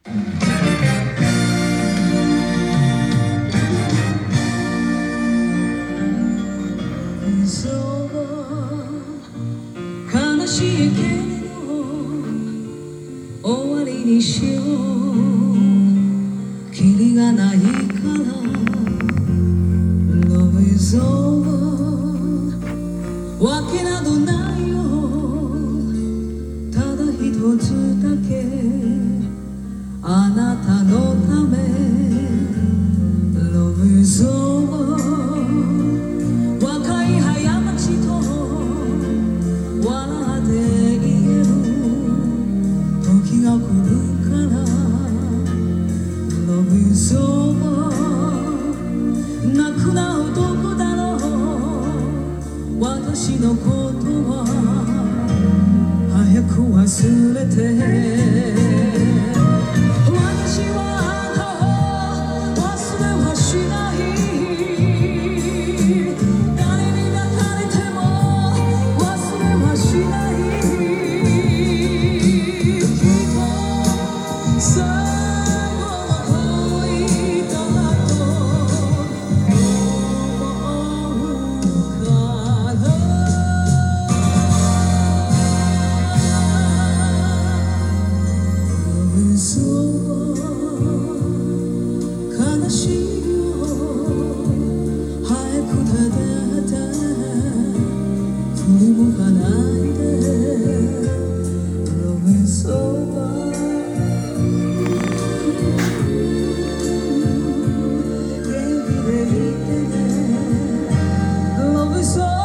悲しいけれど終わりにしようキリがないから Love is over わけなどないよただ一つだけあなたのため Love is over 若い早町と笑って言える時が来るから Love is over 泣くな男だろう私のことは早く忘れて私は忘れはしない誰に抱かれても忘れはしないきっと悲しいよ早くただ振り向かないで Love is over 元気でいてね Love is over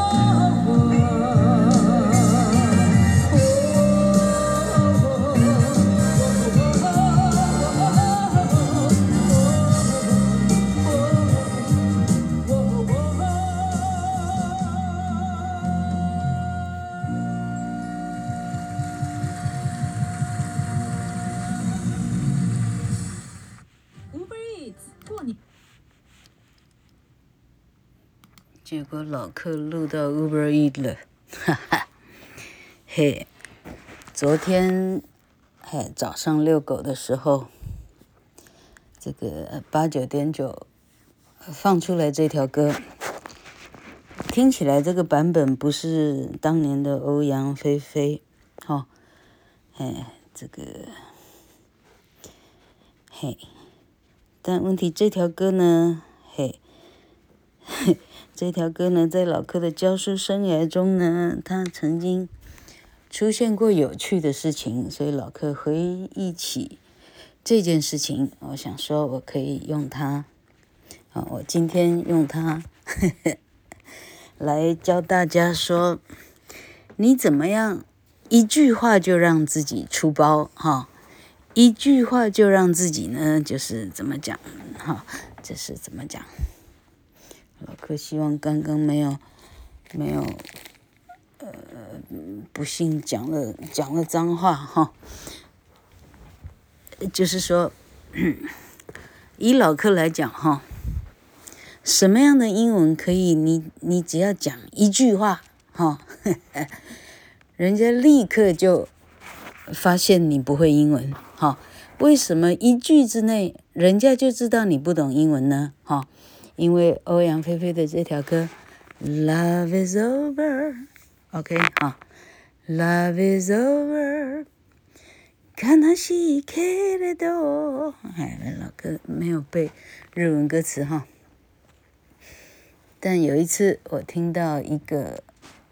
结果老客錄到 Uber Eats 了，哈哈，嘿，昨天早上遛狗的時候，這個89.9放出來這條歌，聽起來這個版本不是當年的歐陽菲菲，哦，這個，嘿，但問題這條歌呢，這條歌呢，在老柯的教書生涯中呢，他曾經出現過有趣的事情，所以老柯回憶起這件事情，我想說我可以用它，我今天用它來教大家說，你怎麼樣一句話就讓自己出包，一句話就讓自己呢，就是怎麼講，這是怎麼講？老柯希望剛剛沒有，不幸講了髒話哈，就是說，以老柯來講哈，什麼樣的英文可以你只要講一句話哈，人家立刻就發現你不會英文哈？為什麼一句之內人家就知道你不懂英文呢？哈？因為歐陽菲菲的這條歌 Love is over，OK， Love is over， 悲しいけれど，老柯沒有背日文歌詞哈，但有一次我聽到一個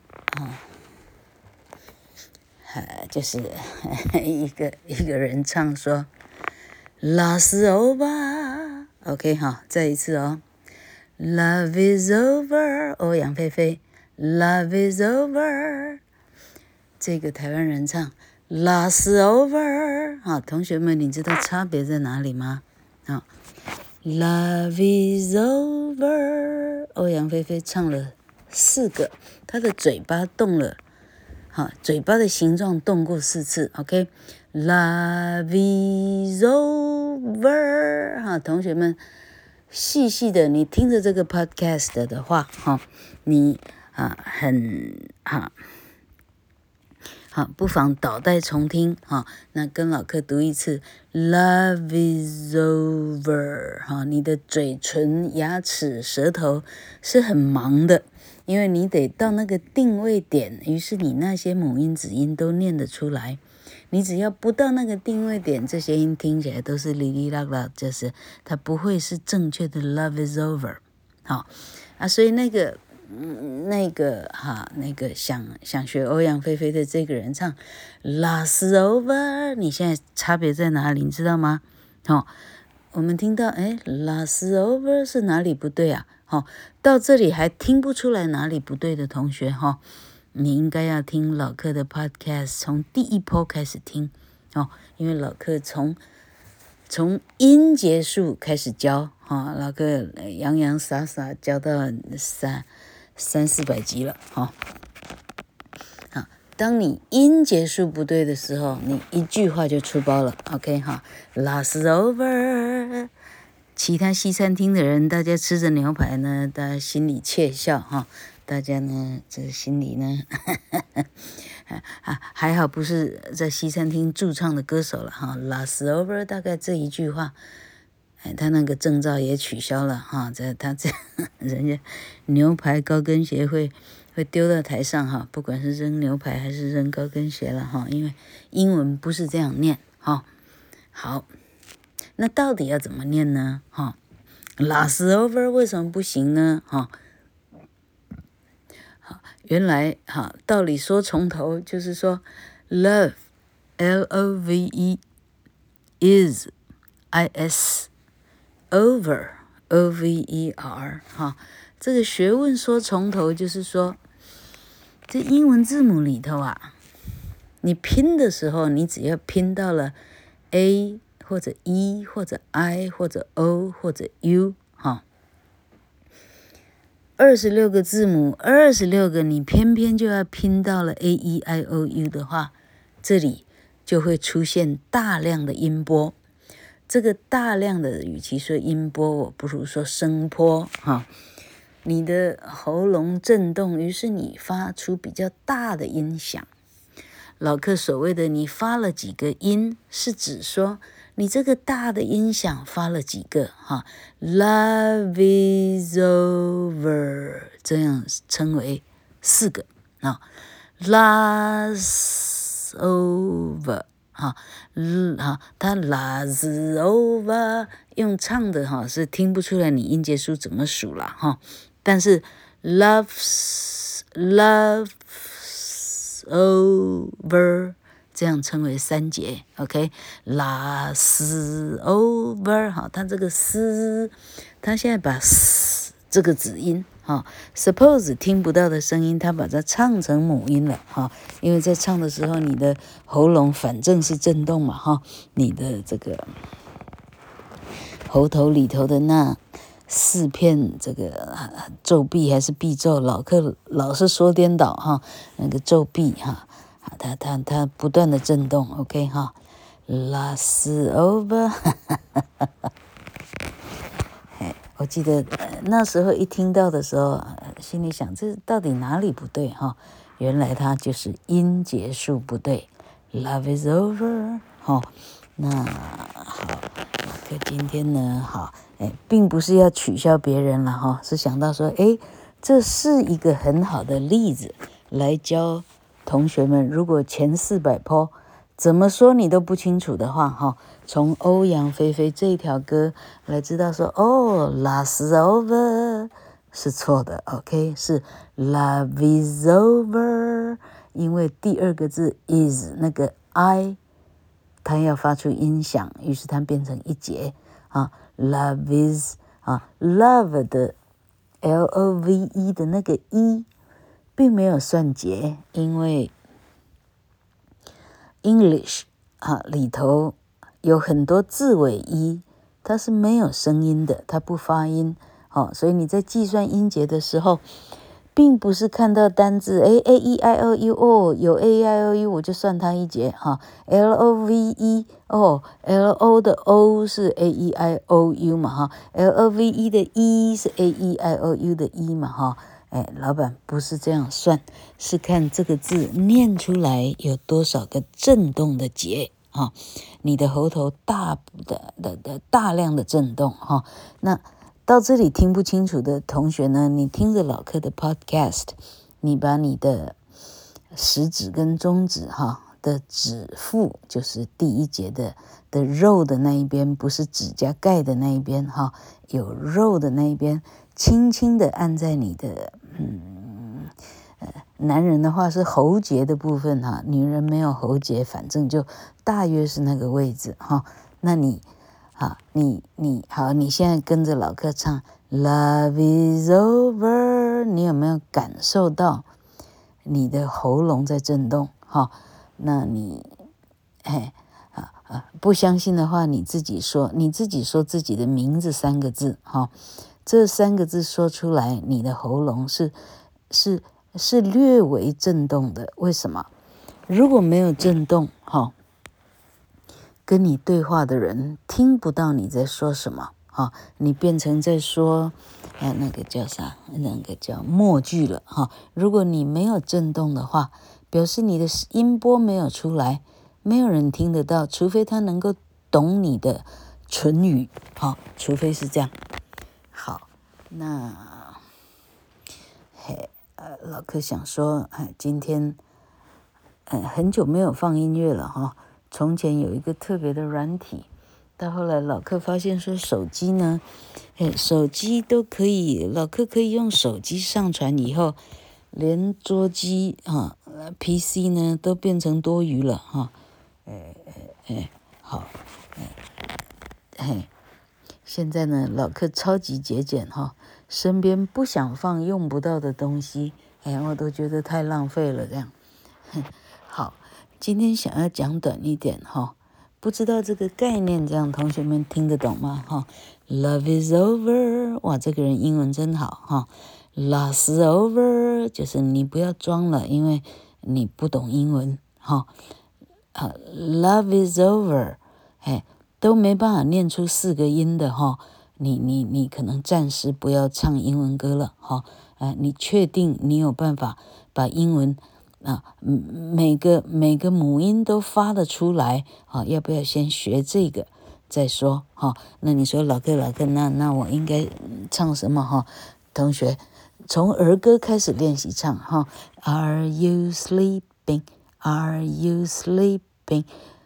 就是一個人唱說 Love is over，OK， 再一次哦。Love is over， 歐陽菲菲 Love is over， 這個台灣人唱 Love is over， 同學們你知道差別在哪裡嗎？Love is over， 歐陽菲菲唱了4個，她的嘴巴動了，嘴巴的形狀動過4次 ，OK， Love is over， 同學們細細的，你聽着這個 podcast 的話，你好，不妨倒帶重聽，哈，那跟老客讀一次 ，Love is over，哈，你的嘴唇、牙齒、舌頭是很忙的，因為你得到那個定位點，於是你那些母音、子音都念得出來。你只要不到那個定位點，這些音聽起來都是哩哩啦啦，就是它不會是正確的 Love is over，好啊，所以那個想學歐陽菲菲的這個人唱 Love's over， 你現在差別在哪裡？你知道嗎？我們聽到Love's over 是哪裡不對啊？到這裡還聽不出來哪裡不對的同學你應該要聽老客的 podcast， 從第一波開始聽因為老客從音節數開始教老客洋洋灑灑教到300-400集了當你音節數不對的時候，你一句話就出包了 ，OK Love's over。其他西餐廳的人，大家吃着牛排呢，大家心裡竊笑大家呢，這心裡呢，還好不是在西餐廳駐唱的歌手了Love's over， 大概這一句話，他那個證照也取消了人家牛排高跟鞋會丟到台上不管是扔牛排還是扔高跟鞋了因為英文不是這樣念好，那到底要怎麼念呢Love's over 為什麼不行呢原來道理說從頭就是說 love L-O-V-E is I-S over O-V-E-R 這個學問說從頭就是說這英文字母裡頭你拼的時候你只要拼到了 A 或者 E 或者 I 或者 O 或者 U26個字母26個你偏偏就要拼到了 A-E-I-O-U 的話，這裡就會出現大量的音波。這個大量的與其說音波，我不如說聲波你的喉嚨震動，於是你發出比較大的音響。老客所謂的你發了幾個音，是指說你這個大的音響發了幾個Love is over 這樣稱為4個Love's over 它 Love's over 用唱的是聽不出來你音節數怎麼數了但是 Love's over 這樣稱為3節 OK Love's over 它這個它現在把這個子音suppose 聽不到的聲音，它把它唱成母音了因為在唱的時候你的喉嚨反正是震動嘛你的這個喉頭裡頭的那4片這個皺壁還是臂皺，老客老是說顛倒那個皺壁它不斷的震動 OK Love's over 我記得那時候一聽到的時候心裡想這到底哪裡不對原來它就是音節數不對 Love is over 那好可今天呢並不是要取笑別人了是想到說這是一個很好的例子來教同學們，如果前400波怎麼說你都不清楚的話從歐陽菲菲這條歌來知道說Love's over 是錯的 OK 是 Love is over 因為第2個字 is 那個 I 它要發出音響，於是它變成1節Love is Love 的 L-O-V-E 的那個 E 並沒有算節，因為 English 裡頭有很多字尾 E 它是沒有聲音的，它不發音所以你在計算音節的時候並不是看到單字A-E-I-O-U 有 A-E-I-O-U 我就算它1節L-O-V-E L-O 的 O 是 A-E-I-O-U 嘛L-O-V-E 的 E 是 A-E-I-O-U 的 E 嘛老闆不是這樣算，是看這個字念出來有多少個震動的節哈，你的喉頭大量的震動哈。那到這裡聽不清楚的同學呢，你聽着老課的 podcast， 你把你的食指跟中指哈的指腹，就是第一節的肉的那一邊，不是指甲蓋的那一邊哈，有肉的那一邊，輕輕的按在你的男人的話是喉結的部分哈，女人沒有喉結，反正就大約是那個位置哈。那你好，你現在跟着老課唱 Love is over， 你有沒有感受到你的喉嚨在震動哈？那你不相信的話，你自己說自己的名字3個字哈，這3個字說出來，你的喉嚨是略微震動的。為什麼？如果沒有震動哈，跟你對話的人聽不到你在說什麼哈，你變成在說那個叫啥？那個叫默劇了哈。如果你沒有震動的話，表示你的音波沒有出來，沒有人聽得到，除非他能夠懂你的唇語哈，除非是這樣。好，那老課想說，今天很久沒有放音樂了哈。從前有一個特別的軟體，到後來老課發現說手機呢，手機都可以，老課可以用手機上傳以後，連桌機PC 呢都變成多餘了哈。好，現在呢老課超級節儉哈，身邊不想放用不到的東西，我都覺得太浪費了這樣。好，今天想要講短一點哈，不知道這個概念這樣同學們聽得懂嗎哈 ？Love is over， 哇，這個人英文真好哈。Lost over 就是你不要裝了，因為你不懂英文哈。Love is over， 都沒辦法念出4個音的哈。你可能暫時不要唱英文歌了哈。你確定你有辦法把英文每個母音都發得出來啊？要不要先學這個再說哈？那你說老課，那我應該唱什麼哈？同學，從兒歌開始練習唱哈。Are you sleeping? Are you sleeping?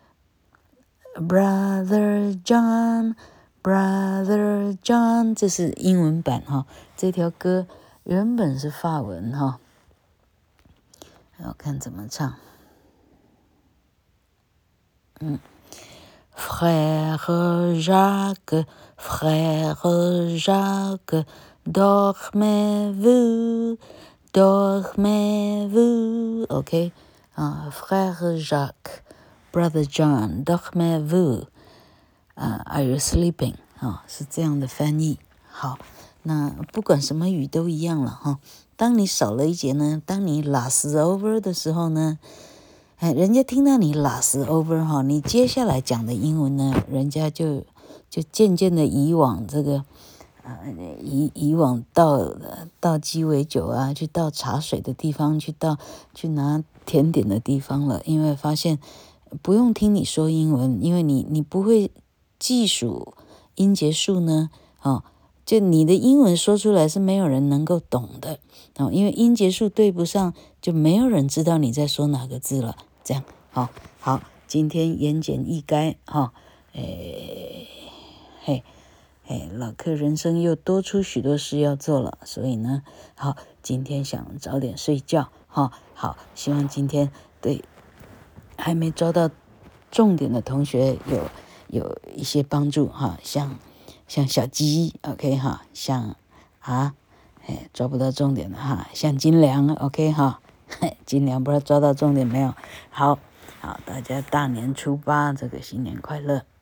Brother John, Brother John， 這是英文版哈。這條歌原本是法文哈。我看怎麼唱。Frère Jacques, Frère Jacques, dormez-vous, dormez-vous, OK， Frère Jacques, Brother John, dormez-vous, Are you sleeping？ 是這樣的翻譯。好，那不管什麼語都一樣了哈。當你少了一節呢，當你 lost over 的時候呢，人家聽到你 lost over 哈，你接下來講的英文呢，人家就漸漸的移往這個以往倒雞尾酒啊，去倒茶水的地方，去拿甜點的地方了，因為發現不用聽你說英文，因為你不會計數音節數呢，就你的英文說出來是沒有人能夠懂的，因為音節數對不上，就沒有人知道你在說哪個字了。這樣，好，今天言簡意賅哈，老課人生又多出許多事要做了，所以呢，好，今天想早點睡覺哈。好，希望今天對還沒抓到重點的同學有一些幫助哈，像小雞 OK 哈，像抓不到重點的哈，像金良 OK 哈，金良不知道抓到重點沒有？好，大家大年初8這個新年快樂。